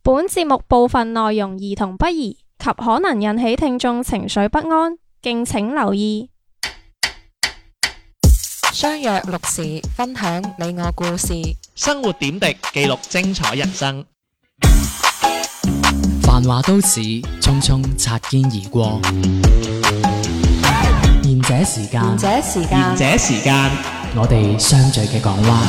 本節目部分內容兒童不宜及可能引起聽眾情緒不安，敬請留意。 相約六時，分享你我故事， 生活點滴，記錄精彩人生。 繁華都市，匆匆擦肩而過。賢者時間， 賢者時間， 我哋相聚嘅港灣。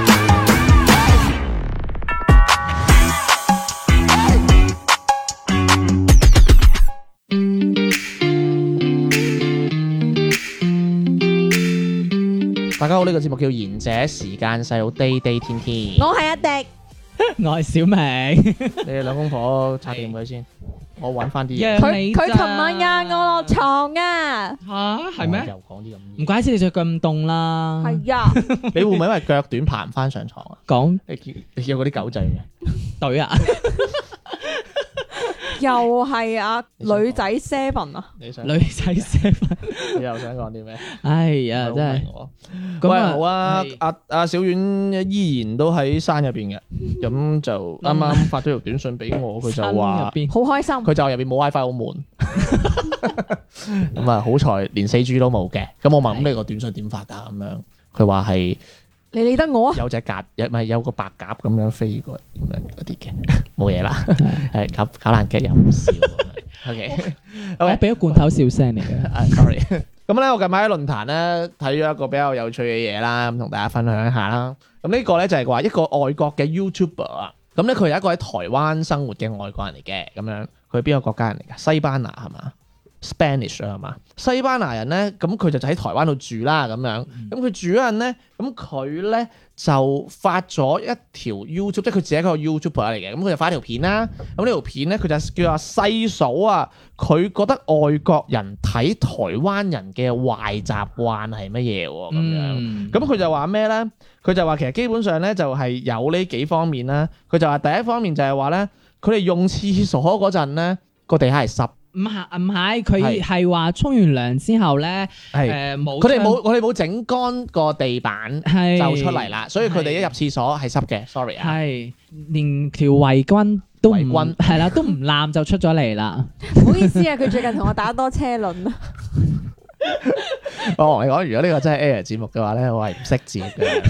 大家好，呢個節目叫賢者時間，細佬滴滴天天。 我係阿迪， 我係小明。 你哋兩公婆拆掂佢先，我揾翻啲嘢。 佢琴晚嗌我落床啊， 吓係咩？ 又講啲咁唔怪之你着咁凍啦。 係啊， 你會唔會因為腳短爬唔翻上床啊？ 講你見過嗰啲狗仔嘅隊啊？ 又係啊，女仔 7啊， 你想女仔 7， 你又想講啲咩？ 哎呀，真係咁好啊！阿小婉依然都喺山入邊嘅，咁就啱啱發咗條短信俾我，佢就話好開心。 佢就入邊冇 WiFi 好悶，咁啊好彩連4G都冇嘅。咁我問咁你個短信點發㗎？咁樣佢話係你理得我啊？ 有隻鴿，唔係有個白鴿咁樣飛過咁樣嗰啲嘅，冇嘢啦。係搞爛劇又唔笑。OK， 我俾咗罐頭笑聲嚟嘅。 sorry。咁咧，我近排喺論壇咧睇咗一個比較有趣嘅嘢啦，咁同大家分享一下啦。咁呢個咧就係話一個外國嘅 YouTuber 啊，咁咧佢係一個喺台灣生活嘅外國人嚟嘅，咁樣佢係邊個國家人嚟㗎？西班牙係嘛？ Spanish 啊，係嘛？西班牙人咧，咁佢就喺台灣度住啦，咁樣。咁佢住嗰陣咧，咁佢咧就發咗一條 YouTube，即係佢自己一個 YouTuber 嚟嘅。咁佢就發一條片啦。咁呢條片咧，佢就叫阿細數啊，佢覺得外國人睇台灣人嘅壞習慣係乜嘢喎？咁樣。咁佢就話咩咧？佢就話其實基本上咧就係有呢幾方面啦。佢就話第一方面就係話咧，佢哋用廁所嗰陣咧，個地下係濕。 唔係，佢係話沖完涼之後咧，冇佢哋冇整乾個地板就出嚟啦，所以佢哋一入廁所係濕嘅。Sorry 啊， 係連條圍巾都唔係啦，都唔攬就出咗嚟啦。 唔好意思啊，佢最近同我打多車輪啊。 我同你講，如果呢個真係 Air 節目嘅話咧，我係唔識字嘅。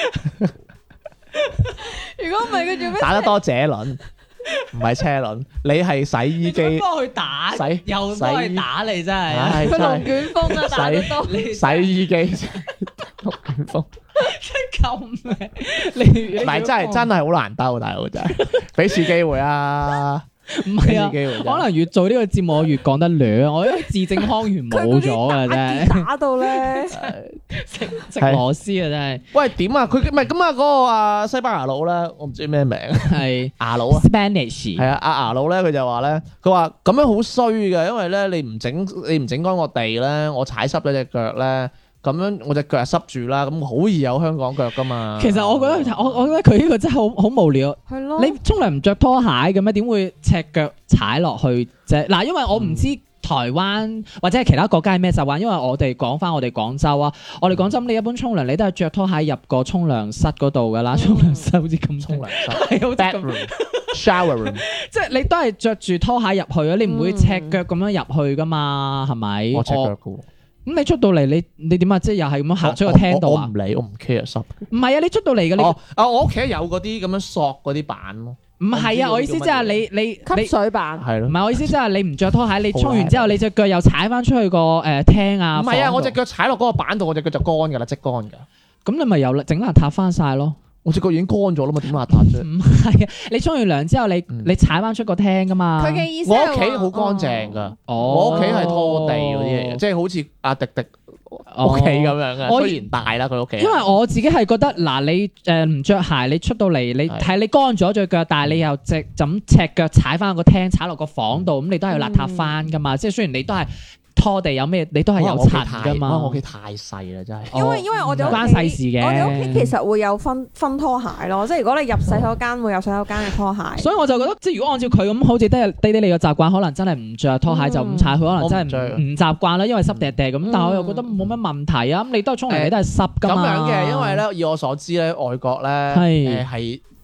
如果唔係佢做咩？ 打得多謝輪。唔係車輪，你係洗衣機， 幫佢打，又幫佢打你真係， 佢龍捲風啊，打得多， 洗衣機，龍捲風， 救命！你唔係真係好難兜，大佬真係，俾次機會啊！ 唔係啊，可能越做呢個節目我越講得亂，我因為字正腔圓冇咗啊，真係打到咧食螺絲啊，真係。喂， 點啊？佢唔係咁啊？嗰個啊西班牙佬咧，我唔知咩名， 係牙佬啊 ，Spanish 係啊，阿牙佬咧，佢就話咧，佢話咁樣好衰嘅，因為咧你唔整乾個地咧，我踩濕咗隻腳咧。咁樣我隻腳係濕住啦，咁好易有香港腳噶嘛。其實我覺得我覺得佢呢個真係好無聊。 係咯， 你沖涼唔着拖鞋嘅咩？點會赤腳踩落去啫？嗱，因為我唔知台灣或者係其他國家係咩習慣，因為我哋講翻我哋廣州啊，我哋廣州你一般沖涼你都係着拖鞋入個沖涼室嗰度噶啦，沖涼室好似咁沖涼室係好似咁 shower room， 即係你都係着住拖鞋入去啊，你唔會赤腳咁樣入去噶嘛，係咪？ 我赤腳噶。 咁你出到嚟，你點啊？即係又係咁樣行出個廳度啊？ 我唔理，我唔 care 濕。 唔係啊，你出到嚟嘅你。 我屋企有嗰啲咁樣索嗰啲板咯。 唔係啊，我意思即係你吸水板。 係咯。 唔係我意思即係你唔着拖鞋，你沖完之後你隻腳又踩翻出去個廳啊。 唔係啊，我隻腳踩落嗰個板度，我隻腳就乾㗎啦，即乾㗎。 咁你咪又整邋遢翻晒咯。 我隻腳已經乾咗啦嘛，點邋遢啫？ 唔係啊，你沖完涼之後你踩翻出個廳噶嘛？ 佢嘅意思我屋企好乾淨㗎，我屋企係拖地嗰啲嚟嘅，即係好似阿迪迪屋企咁樣嘅。雖然大啦佢屋企。 因為我自己係覺得嗱，你唔着鞋，你出到嚟你睇你乾咗隻腳，但係你又就咁赤腳踩翻個廳，踩落個房度，咁你都係要邋遢翻噶嘛？即係雖然你都係。拖地有咩？你都係有塵噶嘛？ 我屋企太細啦，真係。 因為我哋關細事嘅。 我哋屋企其實會有分拖鞋咯，即係如果你入洗手間會有洗手間嘅拖鞋。 所以我就覺得，即係如果按照佢咁，好似低你嘅習慣，可能真係唔着拖鞋就咁踩，佢可能真係唔習慣啦，因為濕地咁。但係我又覺得冇乜問題啊。咁你都係沖涼，你都係濕噶嘛。 咁樣嘅，因為咧，以我所知咧，外國咧係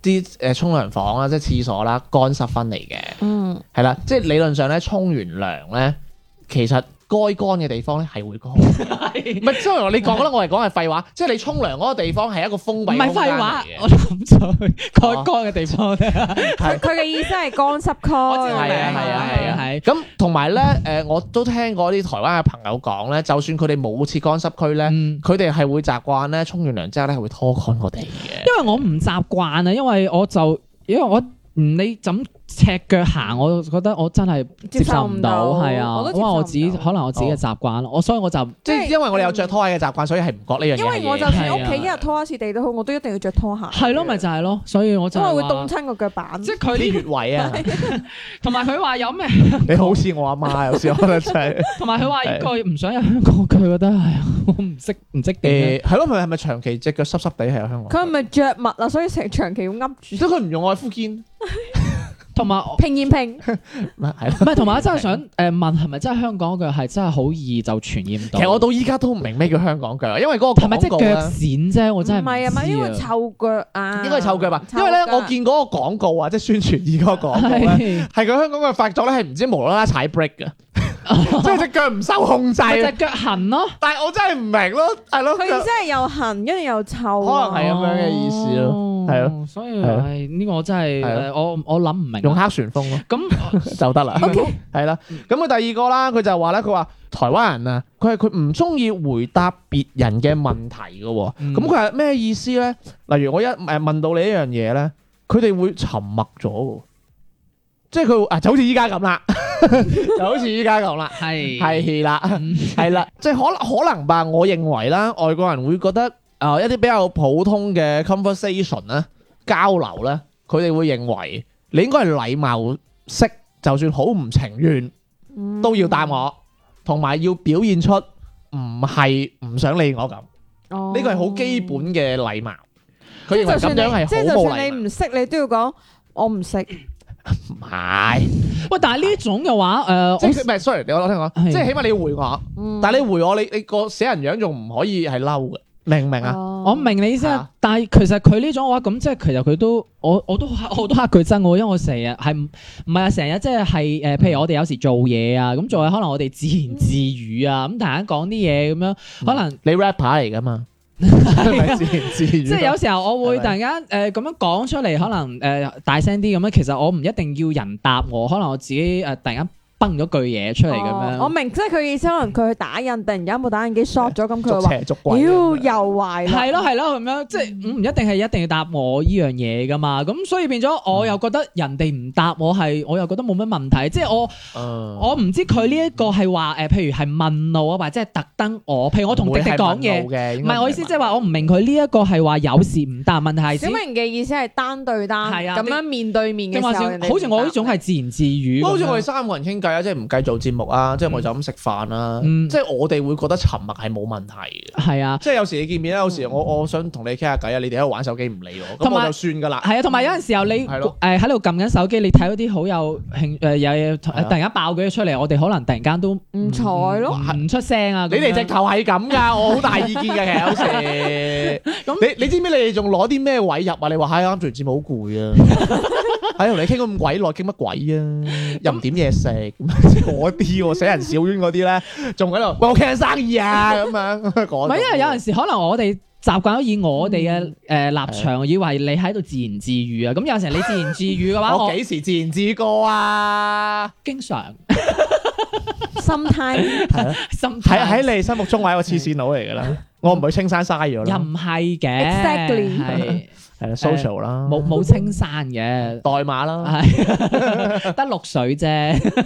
啲沖涼房啦，即係廁所啦，乾濕分離嘅， 嗯， 係啦，即係理論上咧沖完涼咧，其實該乾嘅地方咧係會乾，唔係，雖然你講啦，我係講係廢話，即係你沖涼嗰個地方係一個封閉唔係空間廢話嚟， 我諗咗去乾乾嘅地方咧。 係佢嘅意思係乾濕區。 我知道係啊係啊係啊係咁同埋咧，我都聽過啲台灣嘅朋友講咧，就算佢哋冇設乾濕區咧， 嗯佢哋係會習慣咧，沖完涼之後咧係會拖乾個地嘅。 因為我唔習慣啊，因為我你咁赤腳行，我覺得我真係接受唔到，係啊， 我都接受唔到因為我自己可能我自己嘅習慣，所以我就即係因為我哋有着拖鞋嘅習慣，所以係唔覺呢樣嘢因為我就係嘢。 算屋企一日拖一次地都好，我都一定要着拖鞋。 係咯，咪就係咯，所以我就因為會話凍親個腳板。 即係佢啲呢， 穴位啊， 同埋佢話有咩， 你好似我阿媽有時可能真係同埋佢話呢個唔想喺香港，佢覺得係我唔識點係咯，佢係咪長期隻腳濕濕地喺香港？ 佢係咪着襪啊？所以成長期要噏住即係佢唔用愛膚堅， 同埋平言平。 係咯。 唔係，同埋我真係想問係咪真係香港腳係真係好易就傳染到？ 其實我到依家都唔明咩叫香港腳，因為嗰個係咪即係腳廣告咧， 癬啫？我真係唔係啊，咪因為知啊臭腳啊。 應該係臭腳吧？因為咧，我見嗰個廣告啊，即係宣傳二嗰個廣告咧， 係係佢香港嘅發作咧係唔知無啦啦踩 brake 嘅，即係隻腳唔受控制。 咪就係腳痕咯。 但係我真係唔明咯，係咯， 佢意思係又痕，跟住又臭啊。 可能係咁樣嘅意思咯，係咯， 所以係咯唉呢個我真係係我諗唔明。 用黑旋風咯。 咁就得啦 OK 係啦。咁佢第二個啦，佢就話咧，佢話台灣人啊，佢唔中意回答別人嘅問題嘅喎。 嗯咁佢係咩意思咧？例如我一問到你一樣嘢咧，佢哋會沉默咗喎，即係佢就好似依家咁啦，就好似依家咁啦， 係係啦， 嗯係啦，即係可能吧。我認為啦，外國人會覺得一啲比較普通嘅 conversation 咧，交流咧，佢哋會認為你應該係禮貌式，就算好唔情願都要答我，同埋要表現出唔係唔想理我咁。 哦呢個係好基本嘅禮貌。佢認為就算咁樣係即係好冇就算你禮貌。 唔識，你都要講我唔識。 唔係， 喂，但係呢種嘅話， 即係唔係？sorry，我聽講， 係即係起碼你要回我， 嗯但係你回我，你個死人樣仲唔可以係嬲嘅，明唔明啊？ 哦我明你意思啊啊， 但係其實佢呢種嘅話，咁即係其實佢都我都嚇佢憎我，因為我成日係唔係啊？成日即係譬如我哋有時做嘢啊，咁做嘢可能我哋自言自語啊，咁突然間講啲嘢咁樣，可能你 rapper 嚟噶嘛？係咪自言自語？ 即係有時候我會突然間咁樣講出嚟，可能大聲啲咁樣，其實我唔一定要人答我，可能我自己突然間崩咗句嘢出嚟咁樣。 我明，即係佢意思，可能佢去打印，突然間部打印機 short 咗，咁佢會話： 捉邪捉鬼。 妖又壞啦。 係咯係咯咁樣，即係唔一定係一定要答我呢樣嘢噶嘛，咁所以變咗我又覺得人哋唔答我我又覺得冇乜問題，即係我唔知佢呢一個係話譬如係問路啊，或者係特登譬如我同迪迪講嘢，唔係我意思即係話我唔明佢呢一個係話有時唔答，問題係小明嘅意思係單對單， 係啊咁樣面對面嘅時候， 定話人哋好似我呢種係自言自語咁樣， 好似我哋三個人傾偈啊，即係唔計做節目啊，即係我就咁食飯啦。 嗯即係我哋會覺得沉默係冇問題嘅。 係啊。 即係有時你見面咧，有時我想同你傾下偈啊，你哋喺度玩手機唔理我，咁同埋我就算㗎啦。 係啊，同埋有陣時候你係咯喺度撳緊手機，你睇到啲好有興有突然間爆佢出嚟，我哋可能突然間都唔睬咯。 唔出聲啊！ 你哋直頭係咁㗎，我好大意見嘅。其實有時，你知唔知你哋仲攞啲咩位入啊？你話唉啱做完節目好攰啊，喺同你傾咁鬼耐，傾乜鬼啊？又唔點嘢食，嗰啲喎死人小冤嗰啲咧，仲喺度喂我傾緊生意啊咁樣講。 唔係因為有陣時可能我哋習慣咗以我哋嘅立場，以為你喺度自言自語啊。咁有陣時你自言自語嘅話，我我幾時自言自語過啊？ 經常心態心喺你心目中我係一個黐線佬嚟㗎啦，我唔去青山嘥咗又啦， 唔係嘅 Exactly 係啦 social 啦， 冇青山嘅， 代碼啦。 係得綠水啫。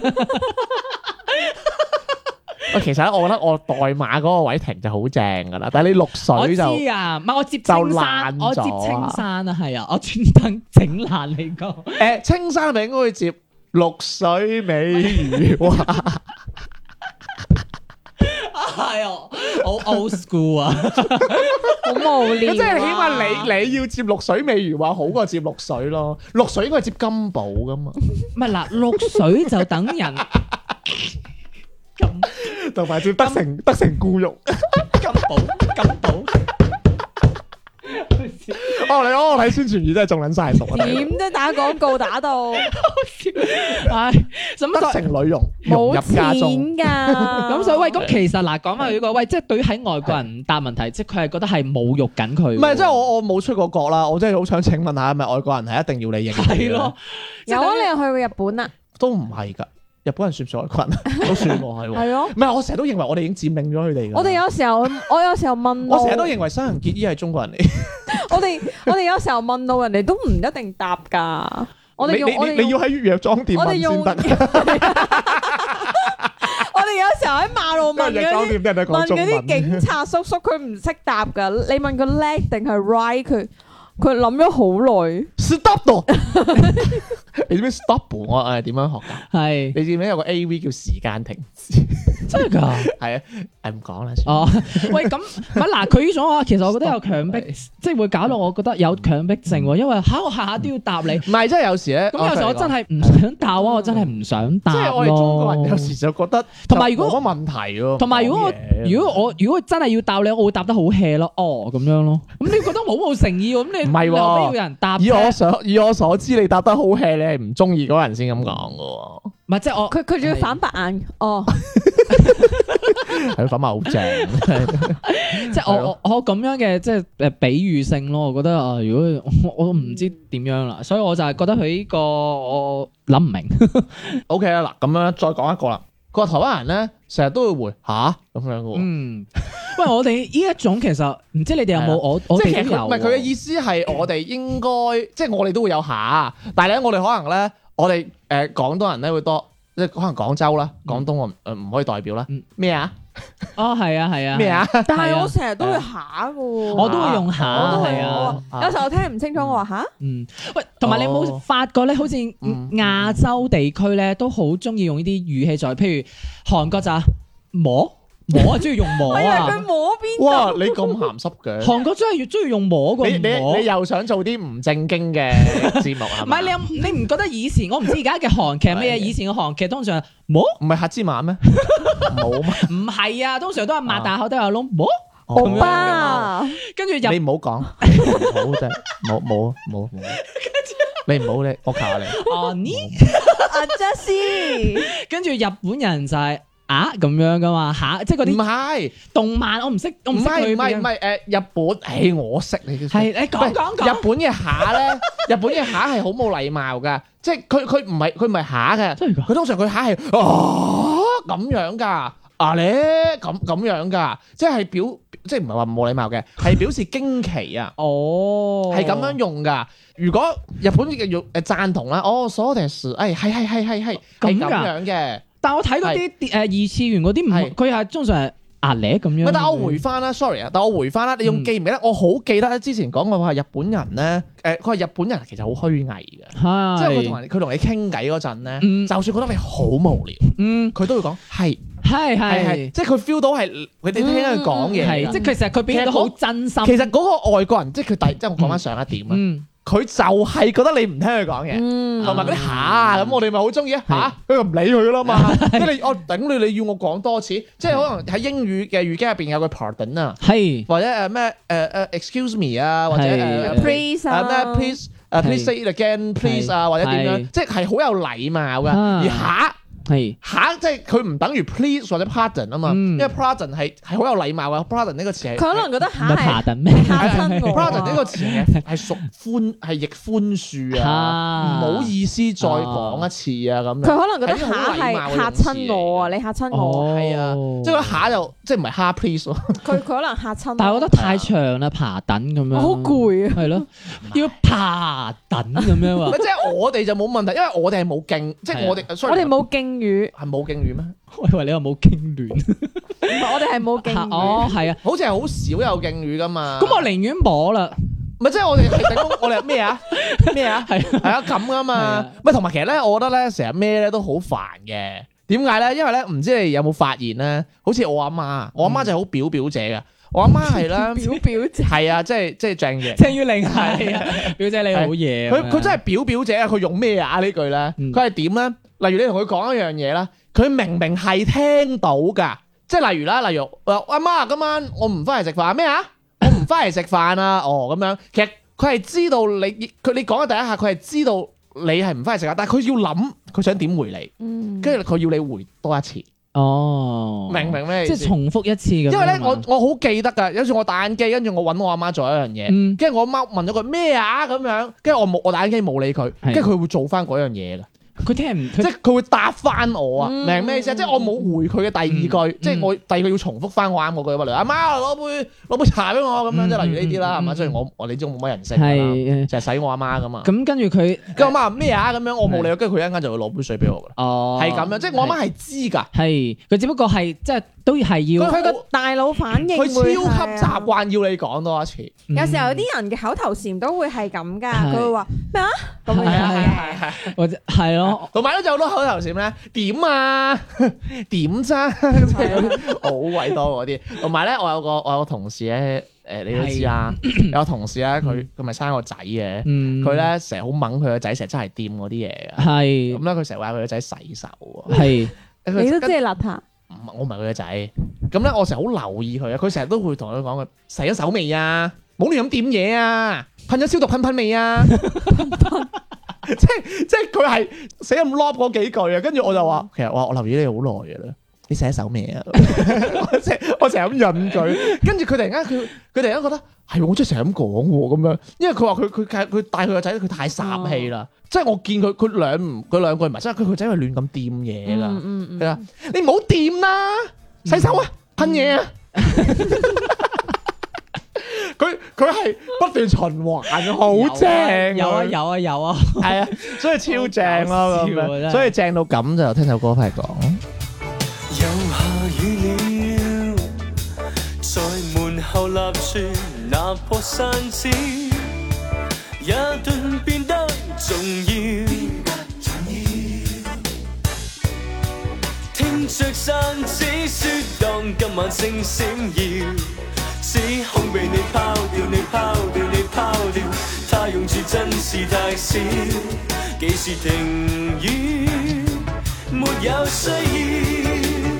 喂，其實咧，我覺得我代碼嗰個位停就好正㗎啦，但係你綠我知水就啊，唔係我接就青山， 爛咗我接青山啊，係啊，我專登整爛你個。 青山咪應該會接綠水美如畫。 係啊，好 old school 啊， 好無聊啊。 咁即係起碼你要接綠水美如畫好過接綠水咯，綠水應該係接金寶㗎嘛， 唔係嗱，綠水就等人咁同埋接得成固肉。 金寶。 我睇宣傳語真係中撚晒毒啊！ 點啫打廣告打到唉，咁得成女傭融冇入家中， 錢㗎。 咁所以喂，咁其實嗱，講翻呢個喂，即係對於喺外國人答問題，即係佢係覺得係侮辱緊佢。 唔係即係我冇出過國啦，我真係好想請問下，係咪外國人係一定要你認？ 係咯， 有啊，你有去過日本啊？ 都唔係㗎，日本人算唔算外國人？都算喎，係喎。 係咯。 唔係，我成日都認為我哋已經佔領咗佢哋㗎。 我哋有時候，我有時候問路， 我成日都認為西人結衣係中國人嚟。 我哋有時候問路，人哋都唔一定答㗎。我哋用你要喺藥妝店問先得。 我哋有時候喺馬路問因為藥妝店啲人都講問嗰啲中文。 警察叔叔，佢唔識答㗎。你問佢 left 定係 right，佢諗咗好耐。 Stop 度，你知唔知 stop 我係點樣學㗎？ 係你知唔知有個 A.V. 叫時間停止？ 真係㗎。 係啊，唔講啦。 哦，喂，咁唔係嗱，佢呢種啊，其實我覺得有強迫，即係會搞到我覺得有強迫症喎，因為我下下都要答你。 唔係，即係有時咧， 咁有時我真係唔想答啊，我真係唔想答即係我哋中國人有時就覺得， 同埋如果冇乜問題喎。 同埋如果真係要答你，我會答得好 hea 咯，哦咁樣咯。咁你覺得好冇誠意喎？咁你唔係喎你何必要有人答啫？ 以我所知，你答得好 hea，你係唔中意嗰個人先咁講嘅喎。 唔係即係我佢仲要反白眼。哦， 係粉麻好正， 即係我咁樣嘅即係比喻性咯。我覺得啊，如果我唔知點樣啦，所以我就係覺得佢呢個我諗唔明。 OK 啦，嗱咁樣再講一個啦。佢話台灣人咧成日都會回吓咁樣嘅喎。 嗯，喂，我哋呢一種其實唔知你哋有冇我即係其實哋都有喎。 唔係佢嘅意思係我哋應該即係我哋都會有下，但係咧我哋可能咧我哋廣東人咧會多，即係可能廣州啦，廣東我唔可以代表啦。咩啊？ 哦，係啊，係啊。 咩啊？ 但係我成日都會下㗎喎。 我都會用下， 我都會係啊。 有時候我聽唔清楚，我話吓。 嗯，喂，同埋你有冇發覺咧？好似亞洲地區咧，都好中意用呢啲語氣在，譬如韓國就摸啊，中意用摸我以為佢啊。 摸邊度？ 哇！你咁鹹濕嘅， 韓國真係越中意用摸過你摸。 又想做啲唔正經嘅節目係嘛？ 唔係你唔覺得以前我唔知而家嘅韓劇係咩嘢？以前嘅韓劇通常摸唔係黑芝麻咩？冇咩？ 唔係啊，通常都係擘大口都有窿摸， 歐巴， 跟住你入唔好講，唔好真冇。你唔好你，我求下你。 哦呢， 阿 Jessie， 跟住日本人就係咁樣噶嘛嚇，即係嗰唔啲係， 動漫我唔識佢邊日本，我識你嘅。 係你講日本嘅下咧，日本嘅下係好冇禮貌噶，即係佢唔係下嘅， 真係㗎佢通常佢下係咁樣噶，咧咁樣噶，即係唔係話冇禮貌嘅，係表示驚奇啊， 哦， 係咁樣用噶。如果日本嘅用贊同啦，そうです，係係咁樣嘅。 但我睇嗰啲二次元嗰啲唔係佢係通常係咧咁樣。 但我回翻啦，sorry 啊，但我回翻啦，你仲記唔記得？我好記得之前講過話日本人咧，佢話日本人其實好虛偽嘅，即係佢同你傾偈嗰陣咧，就算覺得你好無聊，佢都會講係，即係佢 feel 到係佢哋聽佢講嘢， 係即係其實佢表現得好真心。 其實嗰個外國人即係佢即係我講翻上一點啊。佢就係覺得你唔聽佢講嘢，同埋嗰啲下咁，我哋咪好中意啊嚇，佢就唔理佢啦嘛。即係我頂你要我講多次，即係可能喺英語嘅語境入邊有個 pardon 啊， 係或者咩excuse me 啊，或者 please 啊咩 please say it again please 啊，或者點樣，即係好有禮貌噶。而下即係佢唔等於 please 或者 pardon 啊嘛，因為 pardon 係好有禮貌噶。pardon 呢個詞係佢可能覺得下係爬等咩？ 嚇親我。 pardon 呢個詞係屬係亦寬恕啊，唔好意思再講一次啊咁樣。 佢可能覺得下係嚇親我啊，你嚇親我。 係啊，即係嗰下就即係唔係蝦 please 喎。 佢可能嚇親我。 但係我覺得太長啦，爬等咁樣。 好攰啊。 係咯，要爬等咁樣喎。 即係我哋就冇問題，因為我哋係冇敬，即係我哋冇敬語， 係冇敬語咩？ 我以為你話冇經亂。 我哋係冇敬語。 哦，係啊， 好似係好少有敬語噶嘛。 咁我寧願摸啦。 唔係即係我哋我哋係咩啊？係啊咁噶嘛。唔係同埋其實咧，我覺得咧成日咩咧都好煩嘅。點解咧？因為咧唔知你有冇發現咧？好似我阿媽就係好表姐嘅。我阿媽係咧表姐係啊，即係鄭嘅。 鄭裕玲係啊，表姐你好嘢。 佢真係表姐啊！佢用咩啊？呢句咧，佢係點咧？例如你同佢講一樣嘢啦，佢明明係聽到噶，即係例如阿媽今晚我唔翻嚟食飯咩啊？我唔翻嚟食飯啊！哦咁樣，其實佢係知道你講嘅第一下，佢係知道你係唔翻去食啊，但係佢要諗佢想點回你， 嗯， 跟住佢要你回多一次， 哦， 明唔明咩意思？ 即係重複一次咁樣。 因為咧， 係嘛我好記得㗎，有時我打緊機，跟住我揾我阿媽做一樣嘢， 嗯跟住我阿媽問咗佢咩啊咁樣，跟住我打緊機冇理佢， 係跟住佢會做翻嗰樣嘢㗎。 佢聽唔即係佢會答翻我啊， 嗯明咩意思啊？即係我冇回佢嘅第二句，即係我第二句要重複翻我啱嗰句，例如阿媽攞杯茶俾我咁樣，即係例如呢啲啦，係嘛？雖然我你知我冇乜人識㗎啦， 係就係使我阿媽咁嘛。 咁跟住佢跟住我媽話咩啊咁樣，我冇理佢，跟住佢一陣間就會攞杯水俾我㗎啦。 哦係咁樣，即係我阿媽係知㗎， 係佢只不過係即係都係要佢佢個大腦反應佢超會級係啊習慣要你講多一次。 有時候有啲人嘅口頭禪都會係咁噶， 係佢會話咩啊咁樣係啊嘅。 係。 或者係咯， 同埋咧，仲有好多口頭禪咧，點啊，點咋，即係嗰啲好鬼多嗰啲。同埋咧，我有個同事咧，你都知啊，有個同事咧，佢咪生個仔嘅， 嗯， 佢咧成日好掹佢個仔，成日真係掂嗰啲嘢嘅。 係咁咧，佢成日話佢個仔洗手喎。 係你都知係邋遢， 我唔係佢個仔。咁咧，我成日好留意佢啊。佢成日都會同佢講佢洗咗手未啊？冇亂咁掂嘢啊！噴咗消毒噴未啊？即係佢係死咁 lob 嗰幾句啊，跟住我就話，其實我留意你好耐嘅啦，你洗咗手未啊？我成日咁引佢，跟住佢突然間佢突然間覺得係我真係成日咁講喎咁樣，因為佢話佢帶佢個仔佢太煞氣啦，即係我見佢兩句唔係，即係佢個仔係亂咁掂嘢噶，佢話你唔好掂啦，洗手啊，噴嘢啊！佢係不斷循環，好正， 有啊， 係啊，所以超正咯咁樣，所以正到咁就聽首歌返嚟講。 又下雨了，在門後立樹，拿破傘子，一頓變得重要。聽着傘子說，當今晚星星耀。只恐被你拋掉，你拋掉，你拋掉，他用處真是太少。幾時停雨，沒有需要，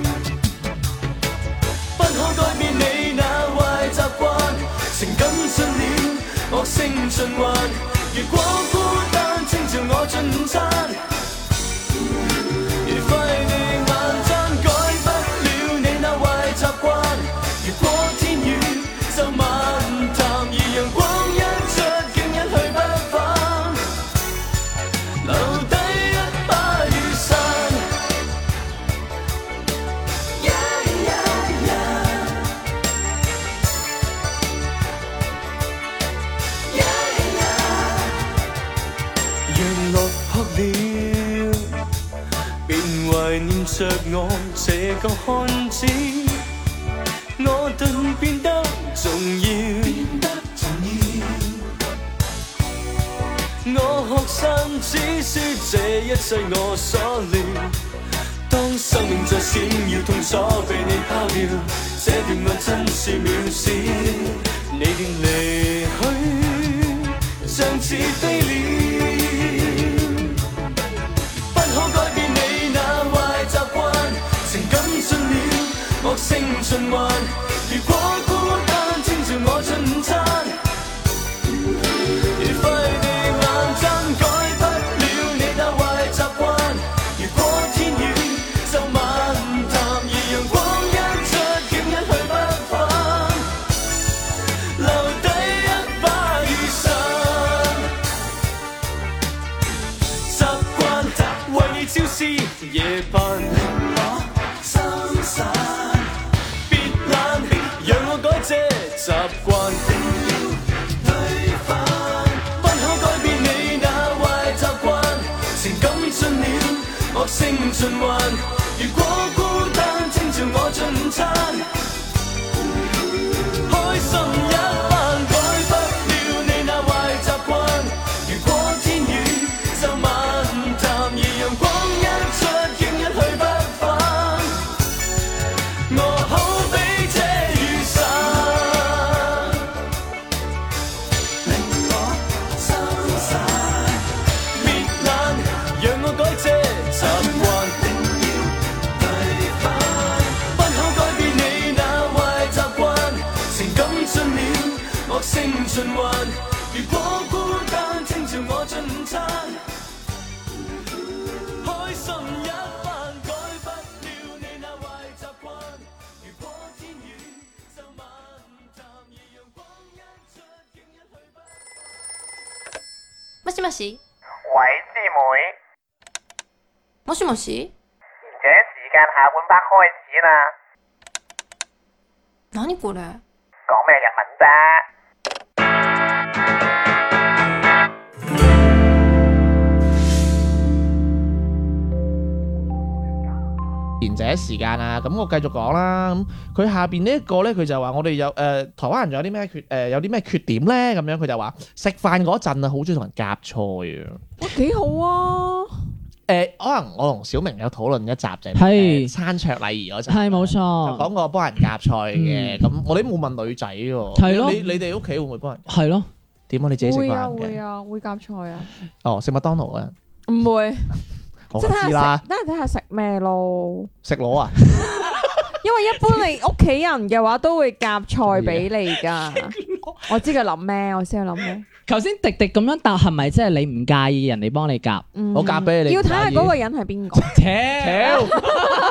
不可改變你那壞習慣。情感進了惡性循環，如果孤單請召我進餐。如快地眼睜，改不了你那壞習慣。如果天雨就漫談，而陽光一出，竟一去不返，留低一把雨傘。讓落魄了，便懷念着我這個漢子。我頓變得重要，我學生只說這一切我所料。當生命在閃耀，痛楚被你拋掉，這段愛真是渺小。你便離去，像似飛鳥，不可改變你那壞習慣，情感進了惡性循環。如果孤單請召我進餐，如快地眼睜，改不了你那壞習慣。如果天雨就漫談，而陽光一出，竟一去不返，留低一把雨傘。習慣為你朝思夜盼，心散。讓我改這習慣，推翻，不可改變你那壞習慣。情感進了惡性循環，如果孤單請召我進餐，開心一班，改不了你那壞習慣。如果天雨就漫談，而陽光一出，竟一去不返，我好比這雨傘，令我心散。別懶，讓我改這習慣，定要對翻。不可改變你那壞習慣，情感進了惡性循環。如果進餐，開心一番，改不了你那壞習慣。如果天遠就漫談，而陽光一出，竟一去不。 もしもし。 喂，師妹， もしもし。 賢者時間下半 part 開始啦， 何これ。 講咩日文啫？ 賢者時間啊，咁我繼續講啦。咁佢下邊呢一個咧，佢就話我哋有台灣人仲有啲咩有啲咩缺點咧？咁樣佢就話食飯嗰陣啊，好中意同人夾菜啊。 哇，幾好啊！ 可能我同小明有討論一集就係餐桌禮儀嗰陣， 係冇錯就講過幫人夾菜嘅。咁我哋冇問女仔喎， 係咯你哋屋企會唔會幫人？ 係咯， 點啊？你自己食會啊飯嘅？ 會啊會夾菜啊， 哦，食麥當勞啊？ 唔會， 我即係知啦， 睇下食咩咯。 食螺啊？ 因為一般你屋企人嘅話都會夾菜俾你噶。我知佢諗咩，我知佢諗咩。 頭先迪迪咁樣答係咪即係你唔介意人哋幫你夾？ 我夾俾你， 要睇下嗰個人係邊個。 屌，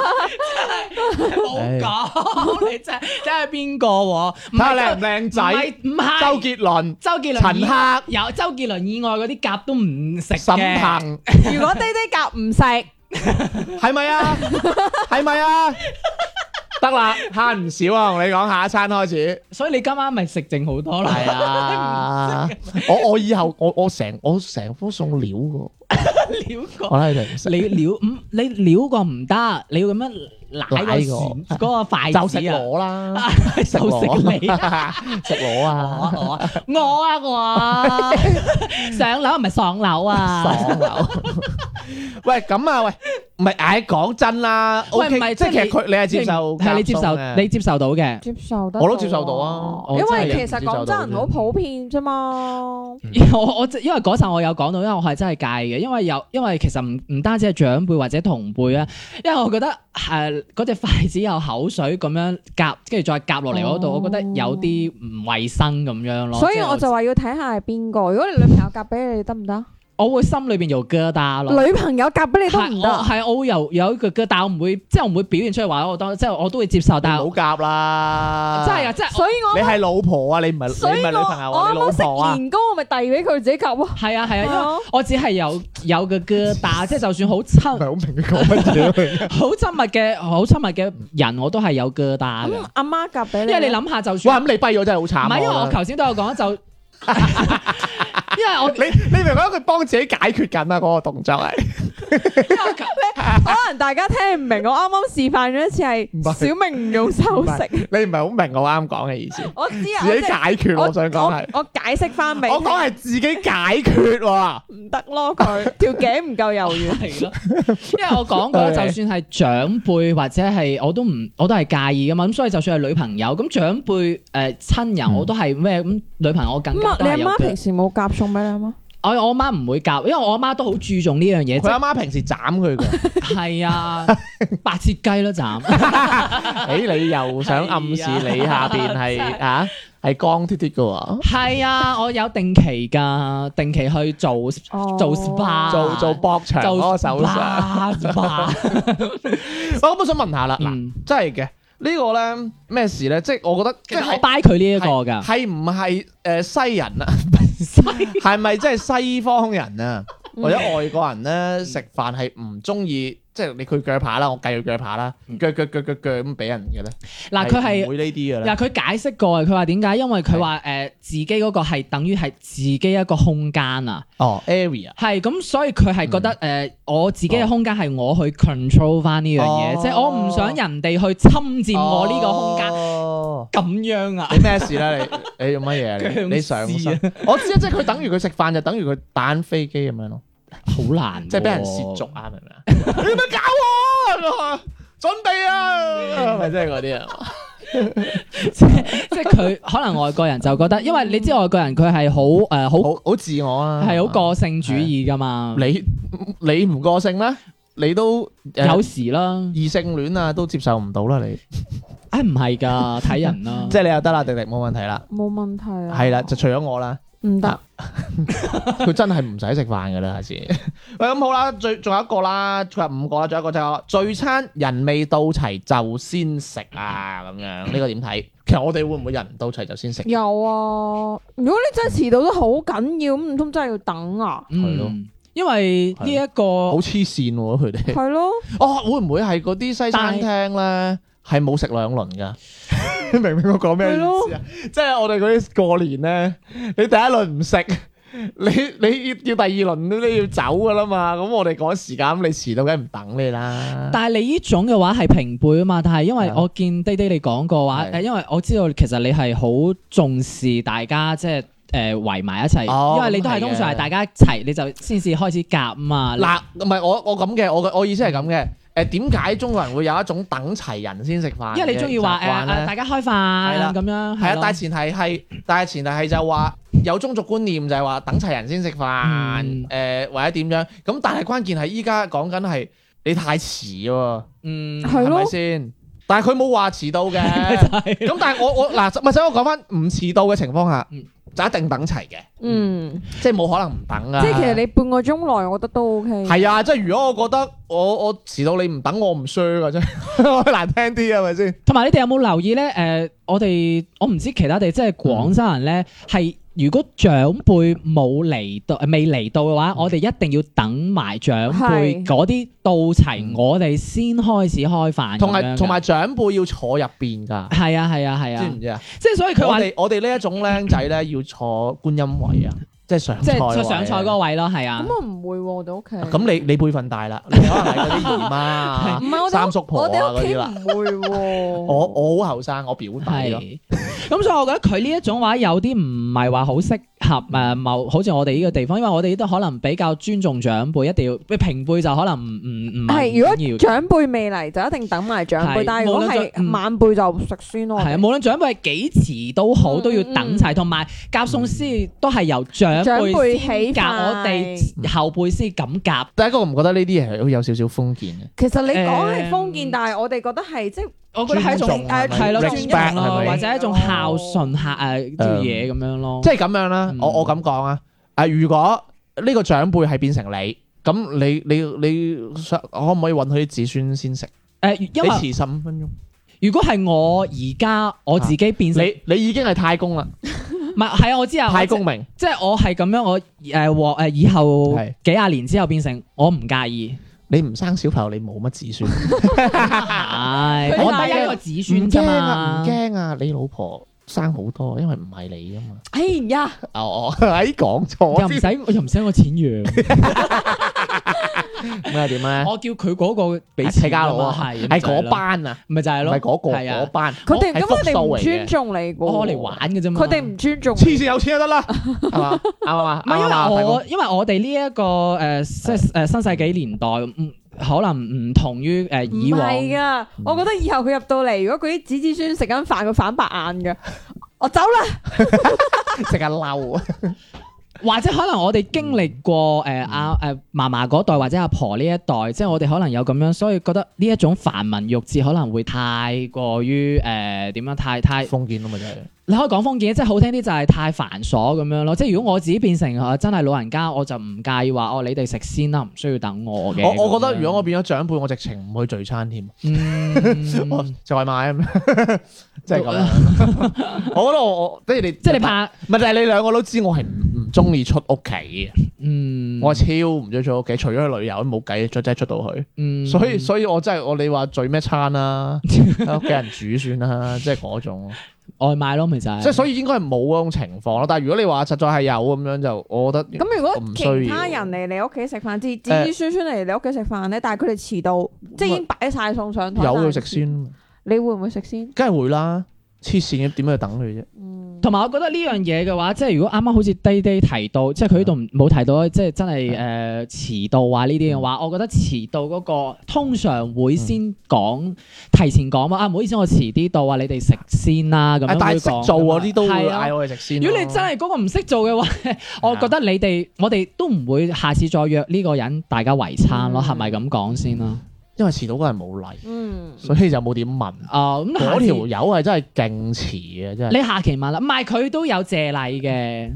冇講，你真係邊個喎？ 睇下靚唔靚仔？ 唔係周杰倫、 周杰倫、 陳赫有周杰倫以外嗰啲夾都唔食沈嘅。 騰， 如果滴滴夾唔食， 係咪啊？係咪啊？得啦，慳唔少啊！同你講，下一餐開始。 所以你今晚咪食剩好多啦。 係啊，我以後我成科送料嘅， 料過我睇你哋唔食， 你料過唔得，你要咁樣舐個匙嗰個筷就食子啊！ 螺啦， 就食你食螺啊！ 我上樓唔係上樓啊！ 爽樓。喂，咁啊，喂，唔係，唉，講真啦喂， ，OK， 唔係即係其實佢你係接受， 係你接受，你接受到嘅。 接受得， 我都接受到啊因我真係為其實廣州人好普遍啫嘛。 因為嗰陣我有講到，因為我係真係介嘅，因為其實唔單止係長輩或者同輩啊，因為我覺得嗰隻筷子有口水咁樣夾，跟住再夾落嚟嗰度，我覺得有啲唔衞生咁樣咯。 所以我就話要睇下係邊個。如果你女朋友夾俾你得唔得？ 我會心裏邊有疙瘩咯。 女朋友夾俾你都唔得。 係我會有一個疙瘩，我唔會即係我唔會表現出嚟話我當，即係我都會接受，但係唔好夾啦。 真係啊！即係所以我你係老婆啊，你唔係女朋友啊，你老我啱啱食婆啊。 年糕，我咪遞俾佢自己夾咯。 係啊，因為我只係有個疙瘩，即係就算好親好明佢講乜嘢。 好親密嘅人，我都係有疙瘩嘅。 咁阿媽夾俾你， 因為你諗下，就哇， 算咁你跛咗真係好慘。 唔係，因為我頭先都有講就。因為我你明唔明佢幫自己解決緊啊？嗰個動作係， 可能大家聽唔明，我啱啱示範咗一次係小明唔用手食。 你唔係好明我啱講嘅意思。 我知啊， 自己解決，我想講係。 我解釋翻俾你我講係自己解決喎。 唔得咯，佢條頸唔夠柔軟。 係咯，因為我講過，就算係長輩或者係我都係介意噶嘛。咁所以就算係女朋友，咁長輩親人我都係咩咁，女朋友我更加都係有嘅。 你阿媽平時冇夾餸俾你阿媽？ 我阿媽唔會夾，因為我阿媽都好注重呢樣嘢。 佢阿媽平時斬佢嘅。 係啊，白切雞咯斬。 誒，你又想暗示你下邊係光脫脫嘅喎？ 係啊，我有定期㗎，定期去做 SPA， 做博場嗰個手術。我想問下啦，嗱，真係嘅。呢個咧咩事咧？即係我覺得， 即係我 buy 佢呢一個㗎， 係唔係西人啊？係咪即係西方人啊？或者外國人咧食飯係唔中意，即係你佢鋸扒啦，我計佢鋸扒啦，鋸咁俾人嘅咧？ 嗱，佢係唔會呢啲嘅咧。 嗱，佢解釋過，佢話點解？因為佢話自己嗰個係等於係自己一個空間啊。 哦 ，area 係咁，所以佢係覺得我自己嘅空間係我去 control 翻呢樣嘢，即係我唔想人哋去侵佔我呢個空間。咁樣啊？ 你咩事咧？你做乜嘢啊？你上身？我知啊，即係佢等於佢食飯就等於佢打緊飛機咁樣咯。 好難， 即係俾人褻瀆啊！明唔明啊？你咪搞我，準備啊！咪即係嗰啲啊？ 即係佢可能外國人就覺得，因為你知外國人佢係好自我啊， 係好個性主義噶嘛。 你唔個性咩？你都有時啦， 異性戀啊都接受唔到啦你。 唔係㗎，睇人啦。 即係你又得啦，迪迪冇問題啦。 冇問題啊。 係啦，就除咗我啦。 唔得， 佢真係唔使食飯㗎啦，下次。喂，咁好啦，仲有一個啦，仲有5個啦，仲有一個就係聚餐人未到齊就先食啊，咁樣呢個點睇？其實我哋會唔會人唔到齊就先食？ 有啊！如果你真係遲到得好緊要，咁唔通真係要等啊？ 係咯因為呢一個好黐線喎，佢哋。 係咯， 哦，會唔會係嗰啲西餐廳咧係冇食2輪㗎？明唔明我講咩意思啊？即係我哋嗰啲過年咧，你第一輪唔食，你要第2輪你要走㗎啦嘛。咁我哋趕時間，咁你遲到梗係唔等你啦。 但係你呢種嘅話係平輩啊嘛，但係因為我見爹哋你講過話， 係因為我知道其實你係好重視大家即係圍埋一齊，因為你都係通常係大家一齊你就先至開始夾啊嘛。 嗱，唔係我咁嘅，我意思係咁嘅。點解中國人會有一種等齊人先食飯？ 因為你中意話大家開飯咁樣， 係啊，但係前提係就話有宗族觀念就係話等齊人先食飯，或者點樣咁？但係關鍵係依家講緊係你太遲喎，係咪先？但係佢冇話遲到嘅，咁但係我嗱，咪使我講翻唔遲到嘅情況下，就一定等齊嘅，即係冇可能唔等啊！ 即係其實你半個鐘內，我覺得都 OK。 係啊，即係如果我覺得我遲到你唔等我唔衰噶啫，我難聽啲係咪先？ 同埋你哋有冇留意咧？我唔知其他地，即係廣州人咧係。如果長輩未嚟到嘅話，我哋一定要等埋長輩嗰啲到齊，我哋先開始開飯。同埋長輩要坐入邊㗎。係啊，知唔知啊？即係所以佢話我哋呢一種僆仔咧要坐觀音位啊，即係上菜嗰個位咯，係啊。 咁我唔會喎，我哋屋企。 咁你輩分大啦，你可能係嗰啲姨媽、 唔係我哋三叔婆啊嗰啲啦。 唔會喎。 我好後生，我表弟咯。 咁所以我覺得佢呢一種話有啲唔係話好適合好似我哋呢個地方，因為我哋都可能比較尊重長輩，一定要平輩就可能唔係。如果長輩未嚟就一定等埋長輩，但係如果係晚輩就食先咯。 係啊，無論長輩係幾遲都好，都要等齊，同埋夾餸先都係由長輩先夾，我哋後輩先咁夾。 第一個我唔覺得呢啲嘢係有少少封建嘅。 其實你講係封建，但係我哋覺得係即係。 我覺得係一種係咯，尊重咯，或者一種孝順客啲嘢咁樣咯。 即係咁樣啦，我咁講啊。如果呢個長輩係變成你，咁你可唔可以允許啲子孫先食？因為你遲15分鐘。 如果係我而家我自己變成你已經係太公啦。 唔係係啊，我知啊， 太公明。即係我係咁樣，我以後幾廿年之後變成我唔介意。 你唔生小朋友，你冇乜子孫。 係，我得一個子孫啫嘛。 唔驚啊！你老婆生好多，因為唔係你啊嘛。 哎呀， 講錯， 又唔使我錢養。 咩點咧？ 我叫佢嗰個俾錢家佬啊，係嗰班啊， 咪就係咯， 係嗰班。 佢哋咁佢哋唔尊重你噶， 我嚟玩嘅啫嘛。 佢哋唔尊重。 黐線有錢就得啦，係嘛？啱嘛？ 唔係因為我哋呢一個即係新世紀年代，可能唔同於以往。 唔係噶，我覺得以後佢入到嚟，如果佢啲子子孫食緊飯，佢反白眼噶。我走啦， 成日嬲啊！ 或者可能我哋經歷過嫲嫲嗰代或者阿婆呢一代，即係我哋可能有咁樣，所以覺得呢一種繁文縟節可能會太過於點樣太封建咯，咪就係。 你可以講封建，即係好聽啲就係太繁瑣咁樣咯。即係如果我自己變成真係老人家，我就唔介意話你哋食先啦，唔需要等我嘅。 我覺得如果我變咗長輩，我直情唔去聚餐添，我就外賣咁，即係咁樣。我覺得我即係你怕，唔係就係你兩個都知我係唔中意出屋企嘅。我超唔中意出屋企，除咗去旅遊都冇計，再真係出到去。所以我真係你話聚咩餐啦，喺屋企人煮算啦，即係嗰種。 外賣咯，咪就係。 即係所以應該係冇嗰種情況咯。但係如果你話實在係有咁樣，就我覺得咁。如果其他人嚟你屋企食飯，子子孫孫嚟你屋企食飯咧，但係佢哋遲到，即係已經擺晒餸上台， 有佢食先。 你會唔會食先？ 梗係會啦，黐線嘅點去等佢啫？ 同埋我覺得呢樣嘢嘅話，即係如果啱啱好似低提到，即係佢呢度冇提到，即係真係遲到啊呢啲嘅話，我覺得遲到嗰個通常會先講，提前講啊，唔好意思，我遲啲到啊，你哋食先啦咁樣會講。但係識做嗰啲都會嗌我哋食先。如果你真係嗰個唔識做嘅話，我覺得我哋都唔會下次再約呢個人大家圍餐咯，係咪咁講先啦？ 因為遲到嗰人冇嚟，所以就冇點問。咁嗰條友係真係勁遲嘅，真係。 你下期問啦，唔係佢都有謝禮嘅。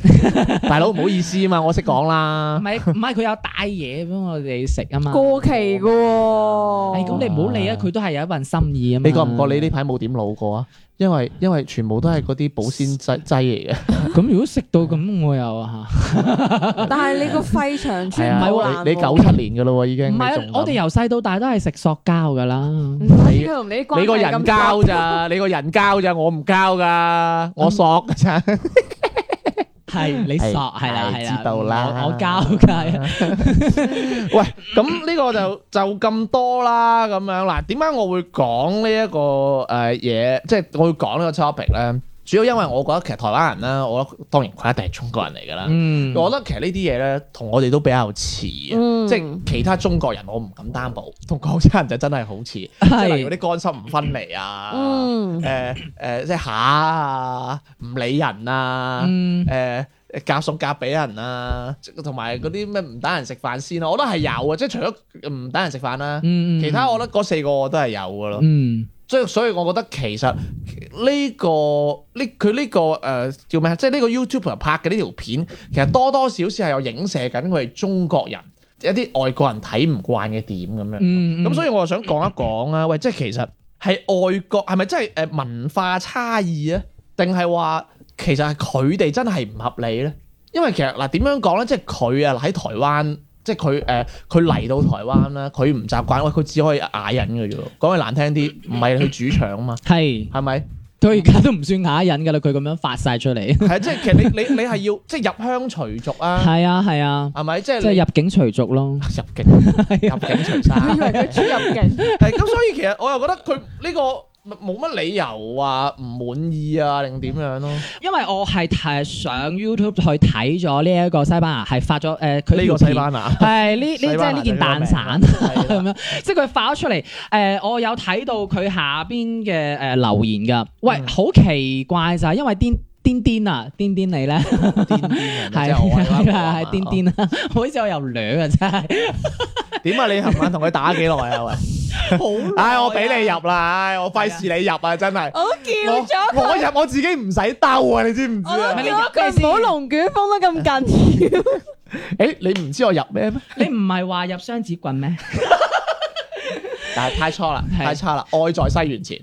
大佬唔好意思啊嘛，我識講唔啦。 係佢有帶嘢俾我哋食啊嘛。 過期嘅喎。 咁你唔好理啊，佢都係有一份心意啊嘛。 你覺唔覺你呢排冇點老過啊？因為全部都係嗰啲保鮮劑嚟嘅。 咁如果食到咁，我又但係你個肺長係啊， 穿唔好你97年嘅咯喎已經。 唔係啊，我哋由細到大都係食塑膠噶啦。 你同你關係你個人咁膠咋？你個人膠咋？我唔膠噶，我索噶咋。 係你索係啦， 知道啦我交㗎。 喂，咁呢個就咁多啦，咁樣嗱，點解我會講呢一個嘢？即係我會講呢個 topic 咧，主要因為我覺得其實台灣人咧，我覺得當然佢一定係中國人嚟㗎啦。 嗯， 我覺得其實呢啲嘢咧，同我哋都比較似嘅，即係其他中國人我唔敢擔保，同廣州人就真係好似，即係例如啲乾濕唔分離啊，即係下啊，唔理人啊，夾餸夾俾人啊，同埋嗰啲咩唔等人食飯先啊，我覺得係有啊，即係除咗唔等人食飯啦，其他我覺得嗰4個我都係有㗎咯。所以我覺得其實佢呢個叫咩？即係呢個 YouTuber 拍嘅呢條片，其實多多少少係有影射緊佢哋中國人一啲外國人睇唔慣嘅點咁樣。咁所以我就想講一講啊，喂，即係其實係外國係咪真係文化差異啊？定係話其實係佢哋真係唔合理咧？因為其實嗱點樣講咧？即係佢啊喺台灣。即係佢嚟到台灣啦，佢唔習慣，喂，佢只可以啞忍嘅啫喎。講句難聽啲，唔係去主場啊嘛，係咪？ 佢而家都唔算啞忍㗎啦，佢咁樣發晒出嚟。 係即係其實你係要即係入鄉隨俗啊。係啊， 係咪？即係入境隨俗咯。入境隨俗。 我以為佢出入境。 係咁，所以其實我又覺得佢呢個。冇乜理由話唔滿意啊，定點樣咯？ 因為我係上 YouTube 去睇咗呢一個西班牙係發咗佢呢個西班牙係即係呢件蛋散咁樣，即係佢發咗出嚟我有睇到佢下邊嘅留言㗎。喂，好奇怪就係因為癲啊，癲你咧，係癲癲啊，好似我又掠啊，真係點啊？你琴晚同佢打幾耐啊？喂，好，我俾你入啦，我費事你入啊，真係。 我叫咗我入我自己唔使兜啊，你知唔知啊？ 我叫佢唔好龍捲風得咁緊要。 誒，你唔知我入咩咩？ 你唔係話入雙子棍咩？ 但係太差啦，太差啦，愛在西元前。